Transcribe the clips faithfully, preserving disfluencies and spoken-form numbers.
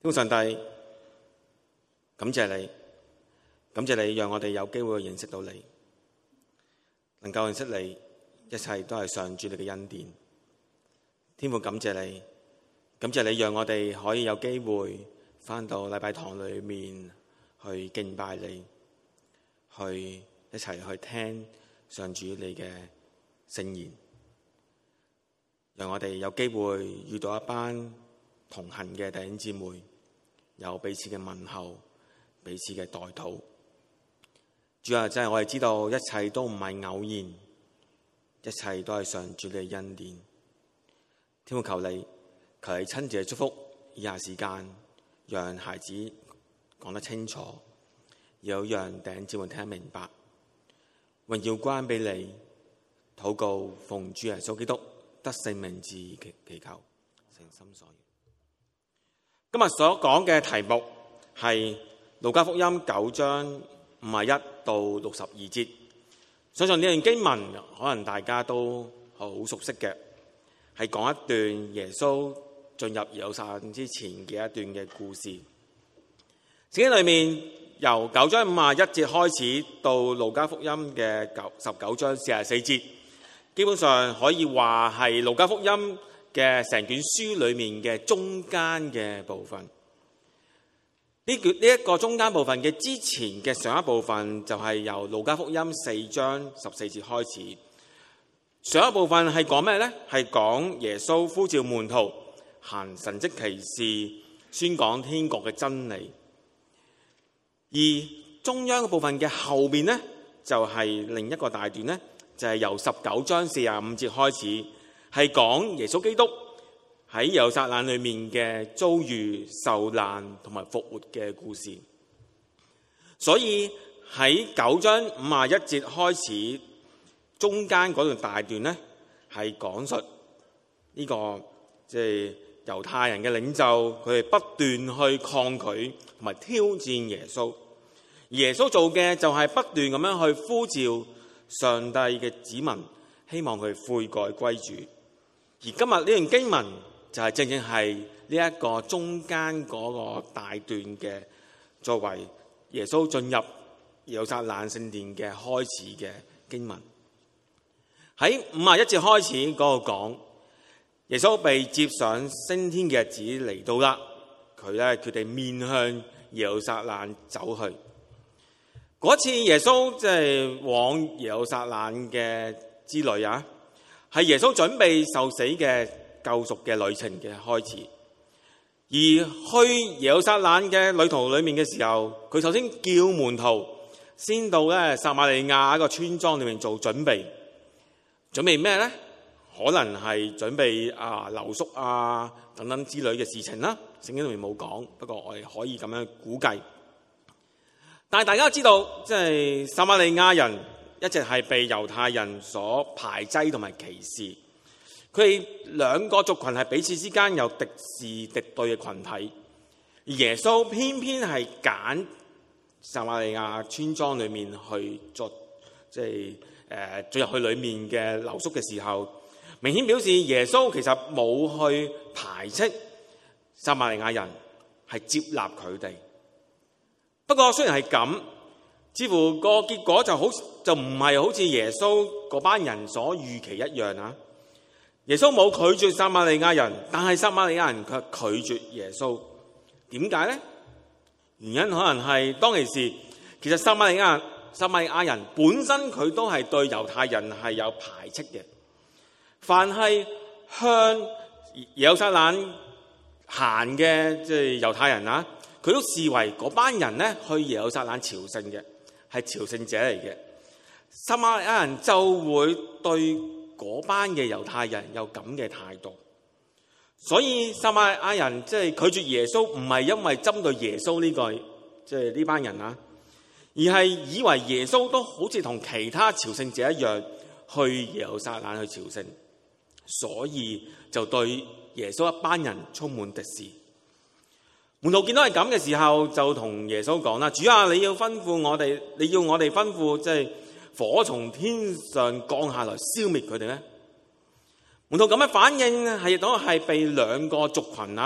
天父上帝，感謝你，感謝你讓我哋有機會認識到你，能夠認識你，一切都係上主你嘅恩典。天父感謝你，感謝你讓我哋可以有機會返到禮拜堂裏面去敬拜你，去一齊去聽上主你嘅聖言，讓我哋有機會遇到一班同行嘅弟兄姊妹，有彼此嘅問候，彼此嘅代禱。主啊，真係我哋知道一切都唔係偶然，一切都係上主你嘅恩典。天父求你，求你親自祝福以下時間，讓孩子講得清楚，又讓弟兄姊妹聽得明白。榮耀歸俾你，禱告奉主耶穌基督得勝名字祈祈求，誠心所願。今日所講嘅題目係路加福音九章五十一到六十二節。相信呢段經文可能大家都好熟悉嘅，係講一段耶穌進入耶路撒冷之前嘅一段嘅故事。聖經裏面由九章五十一節開始到路加福音嘅九十九章四十四節，基本上可以話係路加福音嘅成卷書裏面嘅中間嘅部分。呢卷呢一個中間部分嘅之前嘅上一部分就係由路加福音四章十四節開始。上一部分係講咩呢？係講耶穌呼召門徒行神蹟奇事，宣講天國嘅真理。而中央嘅部分嘅後面呢，就係另一個大段呢，就係由十九章四十五節開始，係講耶穌基督喺耶路撒冷裏面嘅遭遇、受難同埋復活嘅故事。所以喺九章五十一節開始，中間嗰段大段呢，係講述呢、這個即係猶太人嘅領袖，佢哋不斷去抗拒同埋挑戰耶穌。而耶穌做嘅就係不斷咁樣去呼召上帝嘅子民，希望佢悔改歸主。而今日呢段經文就係正正係呢一個中間嗰個大段嘅，作為耶穌進入耶路撒冷聖殿嘅開始嘅經文。喺五十一節開始嗰度講，耶穌被接上升天嘅日子嚟到啦，佢咧決定面向耶路撒冷走去。嗰次耶穌即係往耶路撒冷嘅之旅啊，係耶穌準備受死嘅救贖嘅旅程嘅開始。而去耶路撒冷嘅旅途裏面嘅時候，佢首先叫門徒先到咧撒瑪利亞一個村莊裏面做準備。準備咩呢？可能係準備啊留宿啊等等之類嘅事情啦。聖經裏面冇講，不過我哋可以咁樣估計。但係大家知道，即係撒瑪利亞人一直係被猶太人所排擠同埋歧視。佢哋兩個族群係彼此之間有敵視敵對嘅群體。而耶穌偏偏係揀撒瑪利亞村莊裏面去作，即係誒進入去裏面嘅留宿嘅時候，明顯表示耶穌其實冇去排斥撒瑪利亞人，係接納佢哋。不過雖然係咁，似乎個結果就好就唔係好似耶穌嗰班人所預期一樣啊！耶穌冇拒絕撒瑪利亞人，但係撒瑪利亞人卻拒絕耶穌。點解呢？原因可能係當其時，其實撒瑪利亞撒瑪利亞人本身佢都係對猶太人係有排斥嘅。凡係向耶路撒冷行嘅即係猶太人啊，佢都視為嗰班人咧去耶路撒冷朝聖嘅，係朝聖者嚟嘅。撒瑪利亞人就會對嗰班嘅猶太人有咁嘅態度，所以撒瑪利亞人即係拒絕耶穌，唔係因為針對耶穌呢個即係呢班人啊，而係以為耶穌都好似同其他朝聖者一樣去耶路撒冷去朝聖，所以就對耶穌一班人充滿敵視。門徒見到係咁嘅時候，就同耶穌講啦：主啊，你要吩咐我哋，你要我哋吩咐即係火從天上降下來消滅佢哋咧？門徒咁嘅反應係都係被兩個族群啊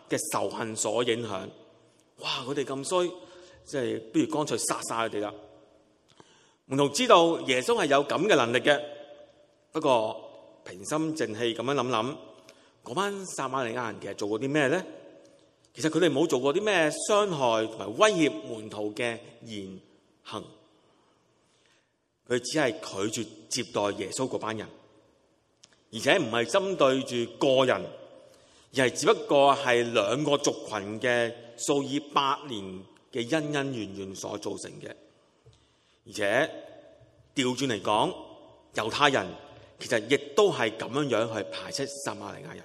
嘅仇恨所影響。哇！佢哋咁衰，即係不如乾脆殺晒佢哋啦。門徒知道耶穌係有咁嘅能力嘅，不過平心靜氣咁樣諗諗，嗰班撒瑪利亞人其實做過啲咩咧？其實佢哋冇做過啲咩傷害同埋威脅門徒嘅言行，佢只係拒絕接待耶穌嗰班人，而且唔係針對住個人，而係只不過係兩個族群嘅數以百年嘅恩恩怨怨所造成嘅。而且調轉嚟講，猶太人其實亦都係咁樣樣去排斥撒瑪利亞人。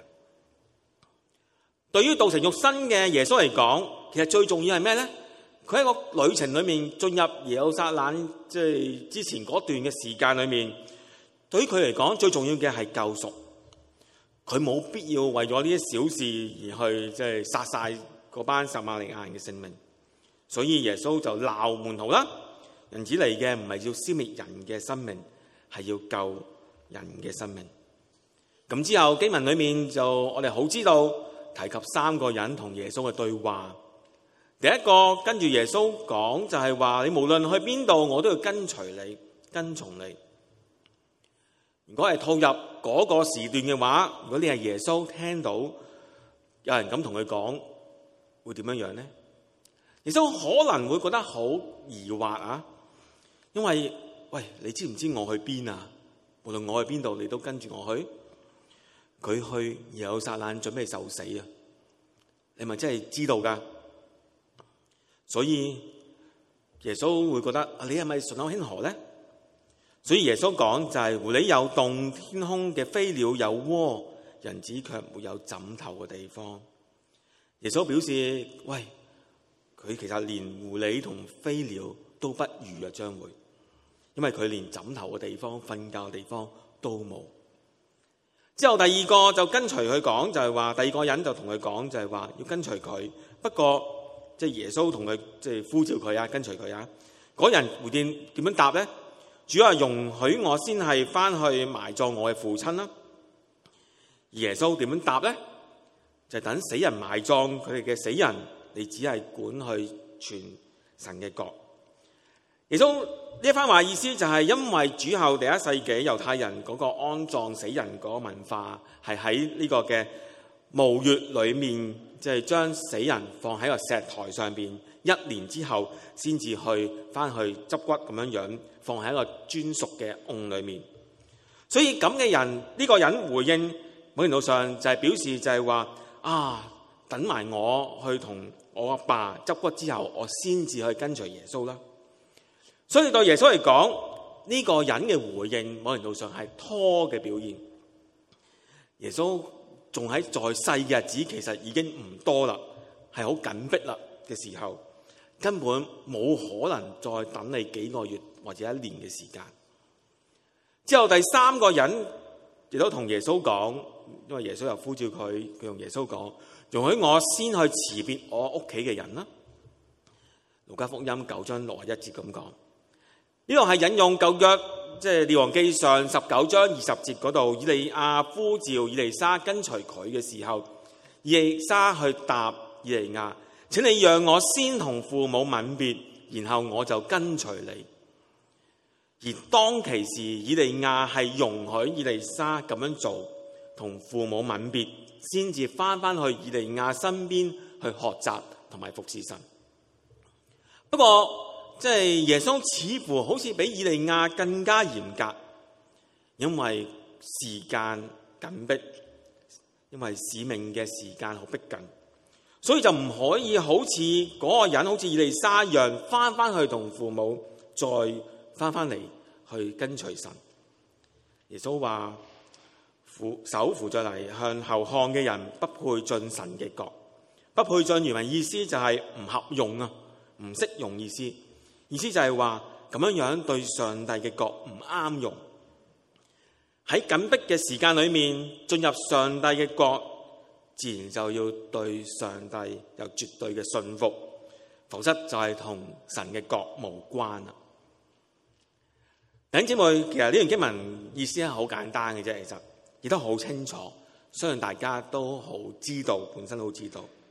對於道成肉身嘅耶穌嚟講，其實最重要係咩咧？佢喺個旅程裏面進入耶路撒冷，即係之前嗰段嘅時間裏面，對於佢嚟講最重要嘅係救贖。佢冇必要為咗呢啲小事而去即係殺晒嗰班撒瑪利亞人嘅性命。所以耶穌就鬧門徒啦，人子嚟嘅唔係要消滅人嘅生命，係要救人嘅生命。咁之後經文裏面就我哋好知道提及三個人同耶穌嘅對話。第一個跟住耶穌講就係話，你無論去邊度，我都要跟隨你，跟從你。如果係套入嗰個時段嘅話，如果你係耶穌，聽到有人咁同佢講，會點樣樣呢？耶穌可能會覺得好疑惑啊，因為喂，你知唔知我去邊啊？無論我去邊度，你都跟住我去。佢去耶路撒冷準備受死啊！你咪真係知道噶？所以耶穌會覺得你係咪順口輕河咧？所以耶穌講就係、是、狐狸有洞，天空嘅飛鳥有窩，人子卻沒有枕頭嘅地方。耶穌表示，喂，佢其實連狐狸同飛鳥都不如啊，將會，因為佢連枕頭嘅地方、瞓覺嘅地方都冇。之後第二個就跟隨佢講，就係話第二個人就同佢講，就係話要跟隨佢。不過即係耶穌同佢即係呼召佢啊，跟隨佢啊。嗰人回應點樣答咧？主啊，容許我先係翻去埋葬我嘅父親啦。耶穌點樣答咧？就係等死人埋葬佢哋嘅死人，你只係管去傳神嘅國。耶穌呢一番話意思就係因為主後第一世紀猶太人嗰個安葬死人嗰個文化係喺呢個嘅墓穴裏面，即係將死人放喺個石台上邊，一年之後先至去翻去執骨咁樣樣，放喺一個專屬嘅甕裏面。所以咁嘅人，呢、這個人回應某程度上就係表示就係話啊，等埋我去同我阿爸執骨之後，我先至去跟隨耶穌啦。所以對耶穌嚟講，呢、這個人嘅回應某程度上係拖嘅表現。耶穌仲喺在世嘅日子，其實已經唔多啦，係好緊迫啦嘅時候，根本冇可能再等你幾個月或者一年嘅時間。之後第三個人亦都同耶穌講，因為耶穌又呼召佢，佢同耶穌講，容許我先去辭別我屋企嘅人啦。路加福音九章六十一節咁講。呢度係引用舊約，即係列王記上十九章二十節嗰度，以利亞呼召以利沙跟隨佢嘅時候，以利沙去答以利亞，請你讓我先同父母吻別，然後我就跟隨你。而當其時，以利亞係容許以利沙咁樣做，同父母吻別，先至翻返去以利亞身邊去學習同埋服侍神。不過，即係耶穌似乎好似比以利亞更加嚴格，因為時間緊迫，因為使命嘅時間好逼近，所以就唔可以好似嗰個人好似以利沙一樣翻翻去同父母再翻翻嚟去跟隨神。耶穌話：扶手扶着犁向後看嘅人不配進神嘅國。不配進原文意思就係唔合用啊，唔適用意思。意思就係話咁樣樣對上帝嘅國唔啱用。喺緊迫嘅時間裏面進入上帝嘅國，自然就要對上帝有絕對嘅信服，否則就係同神嘅國無關啦。弟兄姊妹，其實呢段經文意思係好簡單嘅啫，其實亦都好清楚，相信大家都好知道，本身都知道。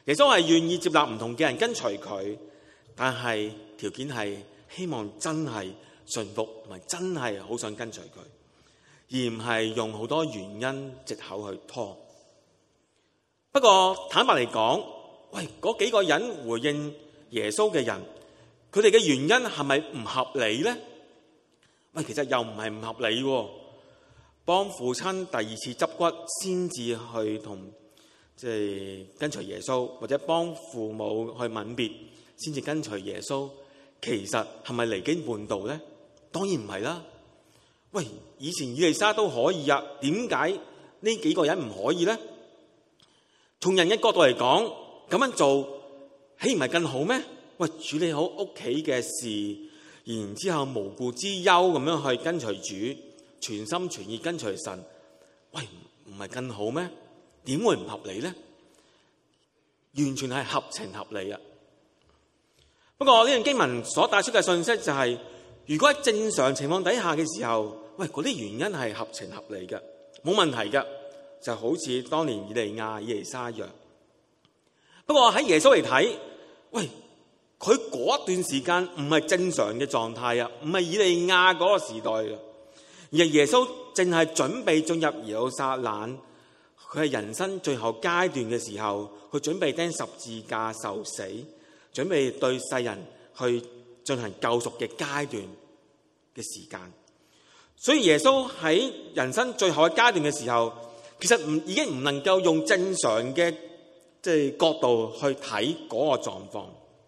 耶穌係願意接納唔同嘅人跟隨佢，但係條件係希望真係順服同埋真係好想跟隨佢，而唔係用好多原因藉口去拖。不過坦白嚟講，喂，嗰幾個人回應耶穌嘅人，佢哋嘅原因係咪唔合理呢？喂，其實又唔係唔合理喎。幫父親第二次執骨先至去同即係跟隨耶穌，或者幫父母去吻別先至跟隨耶穌，其實係咪離經叛道呢？當然唔係啦。喂，以前以利沙都可以啊，點解呢幾個人唔可以呢？從人嘅角度嚟講，咁樣做豈唔係更好咩？喂，處理好屋企嘅事，然之後無故之憂咁樣去跟隨主，全心全意跟隨神，喂，唔係更好咩？點會唔合理呢？完全係合情合理啊！不過呢段經文所帶出嘅信息就係，如果喺正常情況底下嘅時候，喂，嗰啲原因係合情合理嘅，冇問題嘅，就好似當年以利亞、以利沙一樣。不過喺耶穌嚟睇，喂，佢嗰段時間唔係正常嘅狀態啊，唔係以利亞嗰個時代嘅，而係耶穌正係準備進入耶路撒冷。佢係人生最後階段嘅時候，佢準備釘十字架受死，準備對世人去進行救贖嘅階段嘅時間。所以耶穌喺人生最後嘅階段嘅時候，其實唔已經唔能夠用正常嘅即係角度去睇嗰個狀況。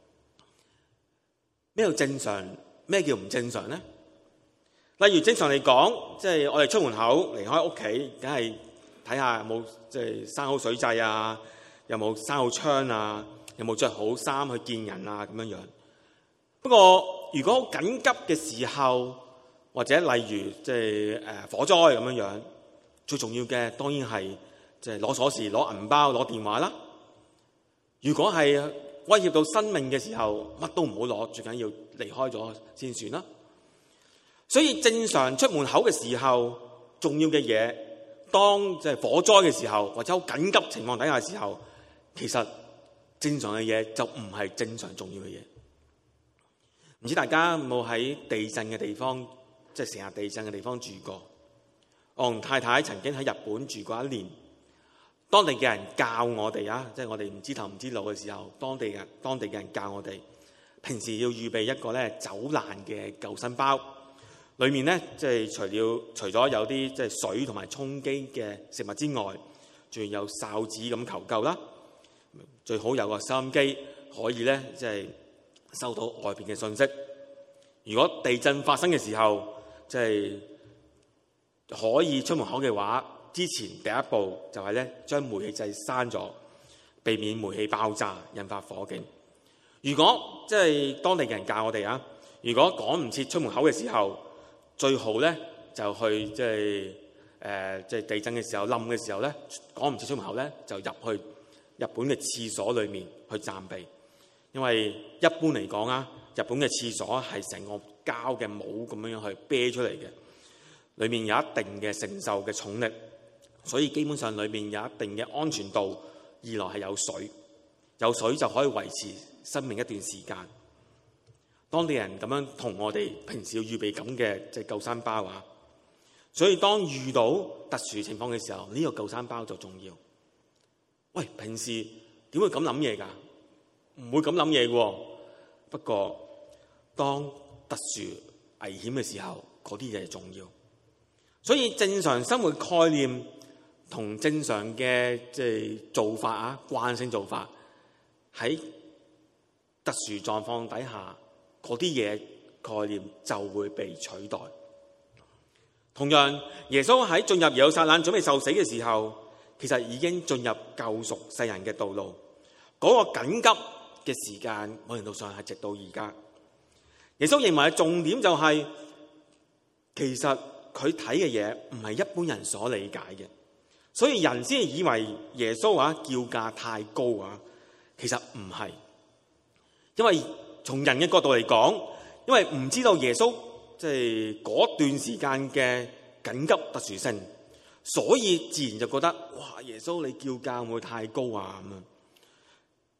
咩叫正常？咩叫唔正常呢？例如正常嚟講，即係我哋出門口離開屋企，梗係睇下有冇即係閂好水掣啊，有冇閂好窗啊，有冇着好衫去見人啊咁樣樣。不過如果好緊急嘅時候，或者例如即係誒火災咁樣樣，最重要嘅當然係即係攞鎖匙、攞銀包、攞電話啦。如果係威脅到生命嘅時候，乜都唔好攞，最緊要離開咗先算啦。所以正常出門口嘅時候，重要嘅嘢，當即係火災嘅時候，或者好緊急情況底下嘅時候，其實正常嘅嘢就唔係正常重要嘅嘢。唔知大家有冇喺地震嘅地方，即係成日地震嘅地方住過？我同太太曾經喺日本住過一年，當地嘅人教我哋啊，即係我哋唔知頭唔知路嘅時候，當地人當地嘅人教我哋，平時要預備一個咧走難嘅救生包。裏面咧，即係除了除咗有啲即係水同埋充飢嘅食物之外，仲有哨子咁求救啦。最好有個收音機，可以咧即係收到外邊嘅信息。如果地震發生嘅時候，即係可以出門口嘅話，之前第一步就係咧將煤氣掣閂咗，避免煤氣爆炸引發火警。如果即係當地嘅人教我哋啊，如果趕唔切出門口嘅時候，最好咧就去即係誒即係地震嘅時候冧嘅時候咧，趕唔切出門口咧，就入去日本嘅廁所裏面去暫避。因為一般嚟講啊，日本嘅廁所係成個膠嘅帽咁樣樣去啤出嚟嘅，裏面有一定嘅承受嘅重力，所以基本上裏面有一定嘅安全度。二來係有水，有水就可以維持生命一段時間。當地人咁樣同我哋平時要預備咁嘅即係救生包啊，所以當遇到特殊情況嘅時候，呢個救生包就重要。喂，平時點會咁諗嘢㗎？唔會咁諗嘢喎。不過當特殊危險嘅時候，嗰啲嘢係重要。所以正常生活概念同正常嘅即係做法啊，慣性做法喺特殊狀況底下，嗰啲嘢概念就會被取代。同樣，耶穌喺進入耶路撒冷準備受死嘅時候，其實已經進入救贖世人嘅道路。嗰個緊急嘅時間，某程度上係直到而家。耶穌認為嘅重點就係，其實佢睇嘅嘢唔係一般人所理解嘅，所以人先以為耶穌啊叫價太高啊，其實唔係，因為從人嘅角度嚟講，因為唔知道耶穌即係嗰段時間嘅緊急特殊性，所以自然就覺得哇，耶穌你叫價會唔會太高啊咁啊？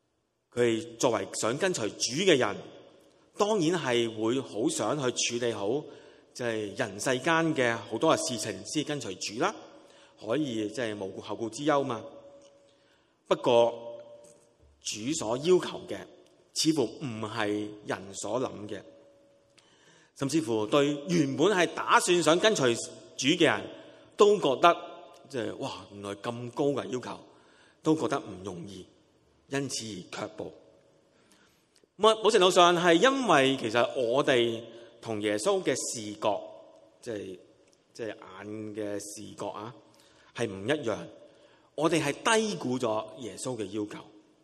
佢哋作為想跟隨主嘅人，當然係會好想去處理好即係人世間嘅好多嘅事情先跟隨主啦，可以即係無顧後顧之憂嘛。不過主所要求嘅似乎唔係人所諗嘅，甚至乎對原本係打算想跟隨主嘅人都覺得即係哇，原來咁高嘅要求，都覺得唔容易，因此而卻步。某程度上係因為其實我哋同耶穌嘅視覺，即係即係眼嘅視覺啊，係唔一樣。我哋係低估咗耶穌嘅要求，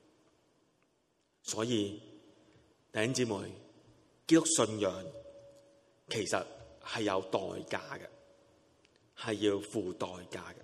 所以弟兄姊妹，基督信仰其實係有代價嘅，係要付代價嘅。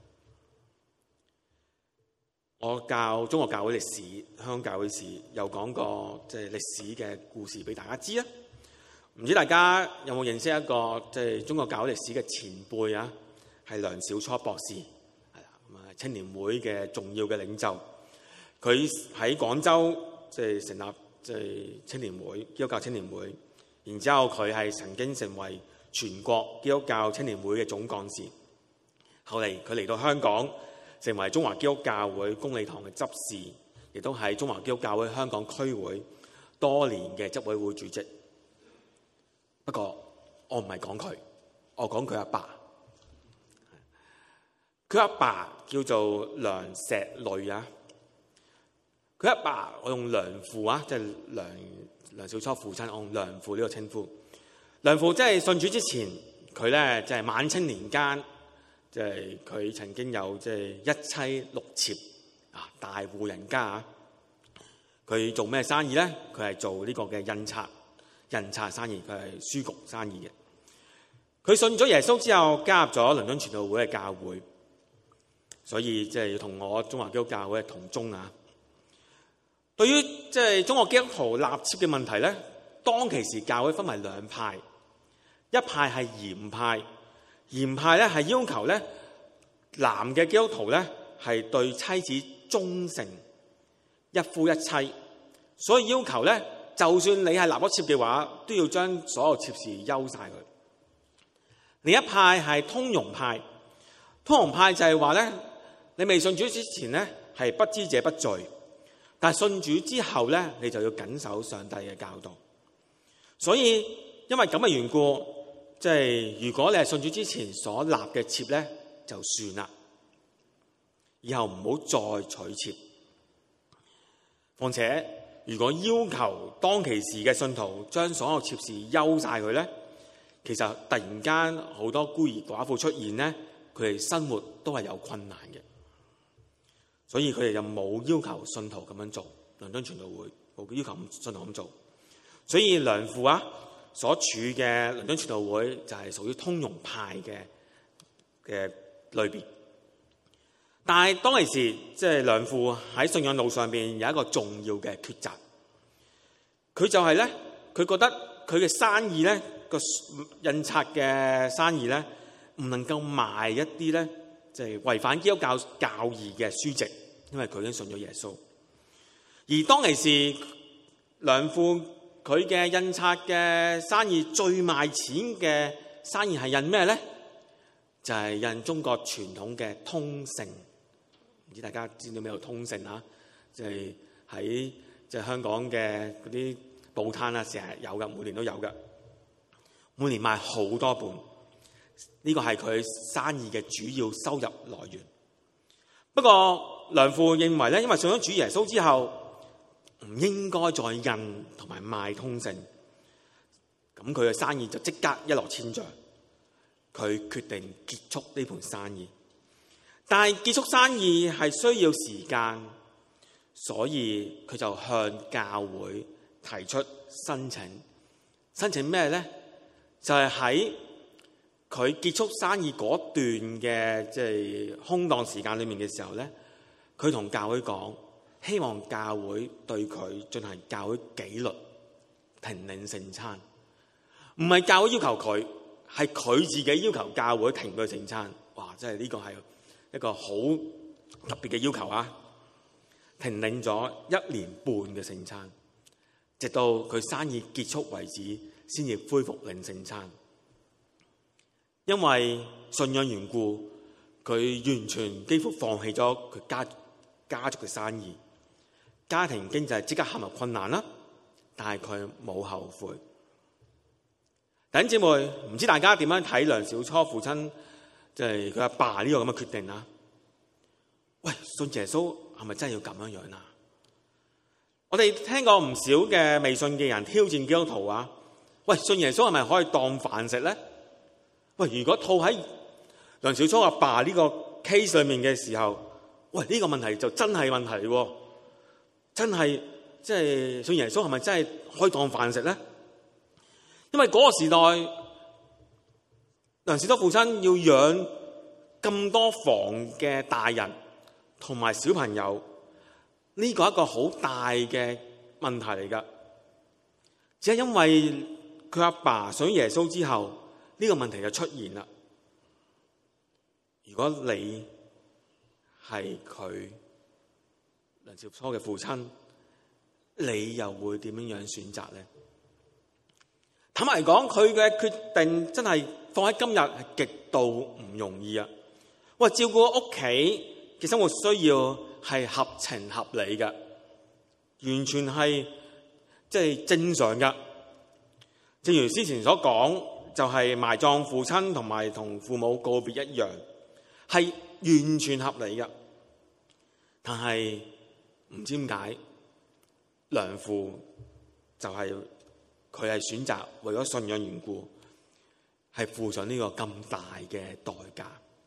我教中國教會歷史、香港教會史，有講過即係歷史嘅故事俾大家知啊。唔知大家有冇認識一個即係中國教會歷史嘅前輩啊？係梁小初博士。青年會嘅重要嘅領袖，佢喺廣州即係成立即係青年會，基督教青年會。然之後佢係曾經成為全國基督教青年會嘅總幹事。後嚟佢嚟到香港，成為中華基督教會公理堂嘅執事，亦都係中華基督教會香港區會多年嘅執委會主席。不過我唔係講佢，我講佢阿爸。佢阿爸叫做梁石磊啊，佢阿爸我用梁父啊，即係梁梁小初父親，我用梁父呢個稱呼。梁父即係信主之前，佢咧即係晚清年間，即係佢曾經有即係一妻六妾啊，大戶人家啊。佢做咩生意咧？佢係做呢個嘅印刷印刷生意，佢係書局生意嘅。佢信咗耶穌之後，加入咗倫敦傳道會嘅教會。所以即係要同我中華基督教會同宗啊。對於即係中國基督徒納妾嘅問題咧，當其時教會分為兩派，一派係嚴派，嚴派咧係要求咧男嘅基督徒咧係對妻子忠誠，一夫一妻，所以要求咧就算你係納咗妾嘅話，都要將所有妾事休晒佢。另一派係通融派，通融派就係話咧，你未信主之前咧，係不知者不罪，但係信主之後咧，你就要謹守上帝嘅教導。所以因為咁嘅緣故，即係如果你係信主之前所立嘅妾咧，就算啦，以後唔好再娶妾。況且如果要求當其時嘅信徒將所有妾事休晒佢咧，其實突然間好多孤兒寡婦出現咧，佢哋生活都係有困難嘅。所以佢哋就冇要求信徒咁樣做，倫敦傳道會冇要求信徒咁做。所以梁父啊所處嘅倫敦傳道會就係屬於通融派嘅嘅類別。但係當其時，即係梁父喺信仰路上邊有一個重要嘅抉擇。佢就係咧，佢覺得佢嘅生意咧，個印刷嘅生意咧，唔能夠賣一啲咧，即係違反基督教教義嘅書籍，因為佢已經信咗耶穌。而當其時，梁父佢嘅印刷嘅生意最賣錢嘅生意係印咩咧？就係印中國傳統嘅通勝。唔知大家知道咩叫通勝啊？即係喺即係香港嘅嗰啲報攤啊，成日有嘅，每年都有嘅，每年賣好多本。呢個係佢生意嘅主要收入來源。不過梁父認為咧，因為信咗主耶穌之後，唔應該再印同埋賣通勝，咁佢嘅生意就即刻一落千丈。佢決定結束呢盤生意，但係結束生意係需要時間，所以佢就向教會提出申請。申請咩咧？就係喺佢結束生意嗰段嘅即係空檔時間裏面嘅時候咧，佢同教會講，希望教會對佢進行教會紀律，停領聖餐。唔係教會要求佢，係佢自己要求教會停佢聖餐。哇！真係呢個係一個好特別嘅要求啊！ 停領咗一年半嘅聖餐，直到佢生意結束為止，先至恢復領聖餐。因為信仰緣故，佢完全幾乎放棄咗佢家家族嘅生意，家庭經濟即刻陷入困難啦。但係佢冇後悔。弟兄姊妹，唔知大家點樣睇梁小初父親即係佢阿爸呢個咁嘅決定啊？喂，信耶穌係咪真係要咁樣樣啊？我哋聽過唔少嘅未信嘅人挑戰基督徒啊！喂，信耶穌係咪可以當飯食咧？喂，如果套喺梁小初阿爸呢個 case 裏面嘅時候，喂，呢個問題就真係問題喎！真係即係信耶穌係咪真係可以當飯食咧？因為嗰個時代，梁小初父親要養咁多房嘅大人同埋小朋友，呢個係一個好大嘅問題嚟㗎。只係因為佢阿爸信耶穌之後，呢個問題就出現啦。如果你係佢梁小初嘅父親，你又會點樣樣選擇呢？坦白嚟講，佢嘅決定真係放喺今日係極度唔容易啊！喂，照顧屋企嘅生活需要係合情合理嘅，完全係即係正常㗎。正如之前所講，就係埋葬父親同埋同父母告別一樣，係完全合理嘅。但係唔知點解，梁父就係佢係選擇為咗信仰緣故，係付上呢個咁大嘅代價。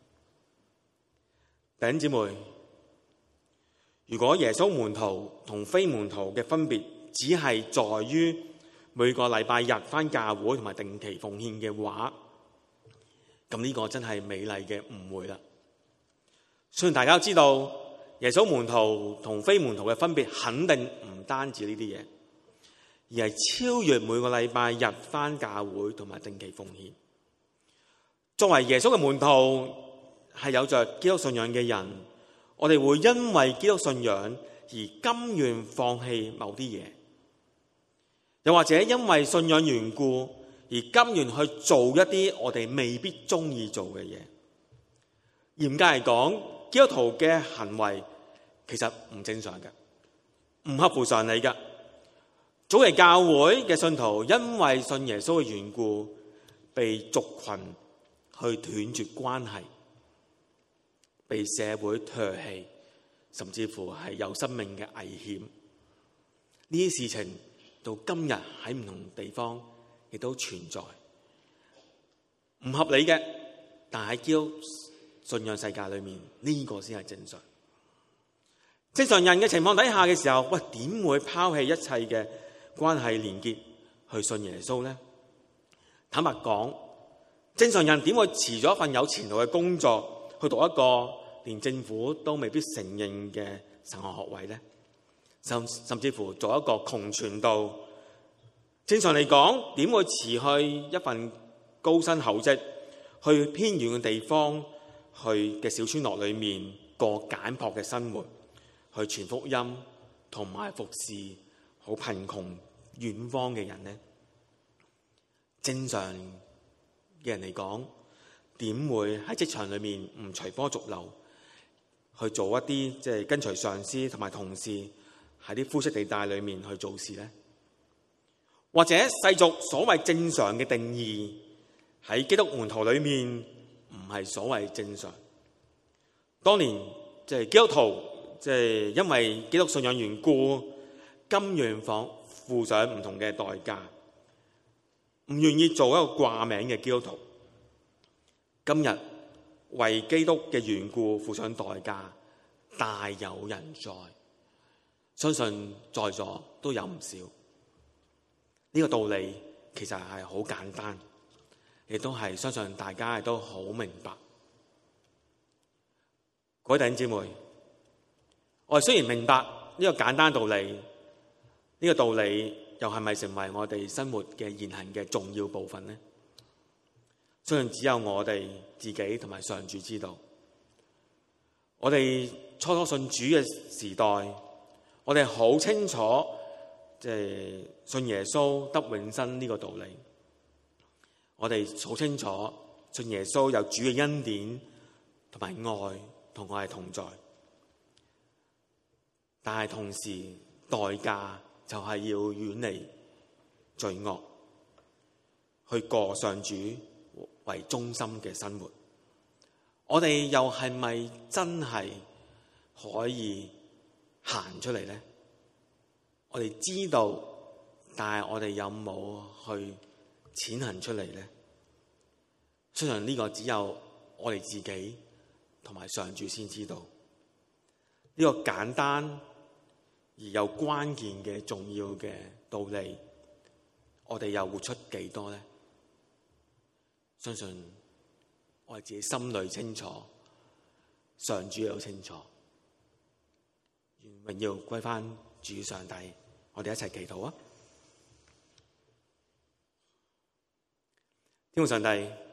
弟兄姊妹，如果耶穌門徒同非門徒嘅分別只係在於每個禮拜日返教會同埋定期奉獻嘅話，咁呢個真係美麗嘅誤會啦。雖然大家都知道耶穌門徒同非門徒嘅分別肯定唔單止呢啲嘢，而係超越每個禮拜日返教會同埋定期奉獻。作為耶穌嘅門徒，係有着基督信仰嘅人，我哋會因為基督信仰而甘願放棄某啲嘢，又或者因為信仰緣故而甘願去做一啲我哋未必中意做嘅嘢。嚴格嚟講，基督徒嘅行為其實唔正常嘅，唔合乎常理嘅。早期教會嘅信徒因為信耶穌嘅緣故，被族群去斷絕關係，被社會唾棄，甚至乎係有生命嘅危險。呢啲事情到今日喺唔同地方亦都存在，唔合理嘅。但喺基督信仰世界裏面，呢個先係正常。正常人嘅情況底下嘅時候，喂，點會拋棄一切嘅關係連結去信耶穌呢？坦白講，正常人點會辭咗一份有前途嘅工作，去讀一個連政府都未必承認嘅神學學位呢？甚甚至乎做一個窮傳道，正常嚟講，點會辭去一份高薪厚職，去偏遠嘅地方，去嘅小村落裏面過簡樸嘅生活，去傳福音同埋服侍好貧窮遠方嘅人呢？正常嘅人嚟講，點會喺職場裏面唔隨波逐流，去做一啲即係跟隨上司同埋同事喺啲灰色地帶裏面去做事呢？或者世俗所謂正常嘅定義喺基督門徒裏面唔係所謂正常。當年即係基督徒，即係因為基督信仰緣故，甘願放付上唔同嘅代價，唔願意做一個掛名嘅基督徒。今日為基督嘅緣故付上代價，大有人在，相信在座都有唔少。呢個道理其實係好簡單，亦都係相信大家亦都好明白。各位弟兄姊妹，我哋雖然明白呢個簡單道理，呢個道理又係咪成為我哋生活嘅言行嘅重要部分呢？相信只有我哋自己同埋上主知道。我哋初初信主嘅時代， 我哋好清楚，即係信耶穌得永生呢個道理。我哋好清楚，信耶穌有主嘅恩典同埋愛同我哋同在。但係同時代價就係要遠離罪惡，去過上主為中心嘅生活。我哋又係咪真係可以行出嚟呢？我哋知道，但係我哋有冇去踐行出嚟呢？相信呢個只有我哋自己同埋上主先知道。呢個簡單而又關鍵嘅重要嘅道理，我哋又活出幾多呢？相信我哋自己心裏清楚，上主又清楚。願榮耀歸翻主上帝，我哋一齊祈禱啊！天父上帝，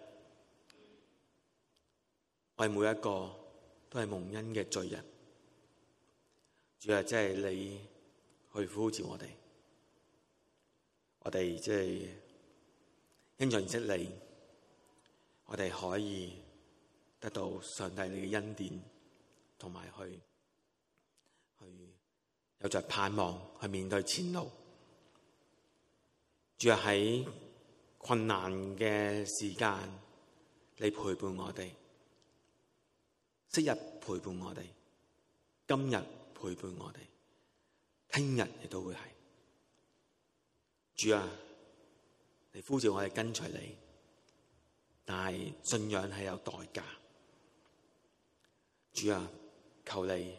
我哋每一個都係蒙恩嘅罪人。主啊，即係你去呼召我哋，我哋即係因着認識你，我哋可以得到上帝你嘅恩典，同埋去去有着盼望去面對前路。主啊，喺困難嘅時間，你陪伴我哋，昔日陪伴我哋，今日陪伴我哋，聽日亦都會係。主啊，你呼召我哋跟隨你，但係信仰係有代價。主啊，求你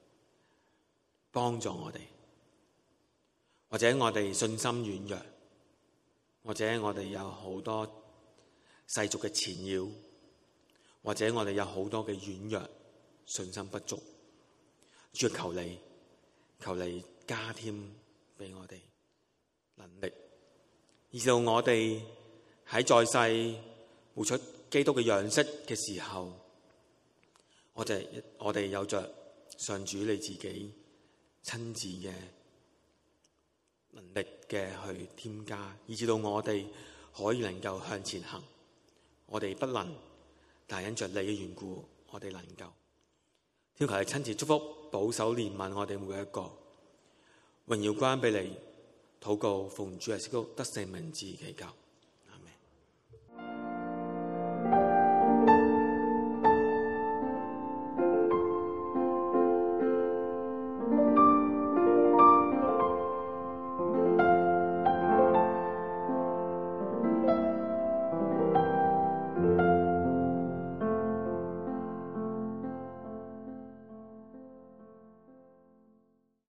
幫助我哋，或者我哋信心軟弱，或者我哋有好多世俗嘅纏繞，或者我哋有好多嘅軟弱，信心不足。主啊，求你，求你加添俾我哋能力，以至到我哋喺在，在世活出基督嘅樣式嘅時候，我哋我哋有着上主你自己親自嘅能力嘅去添加，以至到我哋可以能夠向前行。我哋不能，但係因着你嘅緣故，我哋能夠。天求你親自祝福、保守、憐憫我哋每一個，榮耀歸俾你。禱告奉主耶穌基督得勝名字祈求。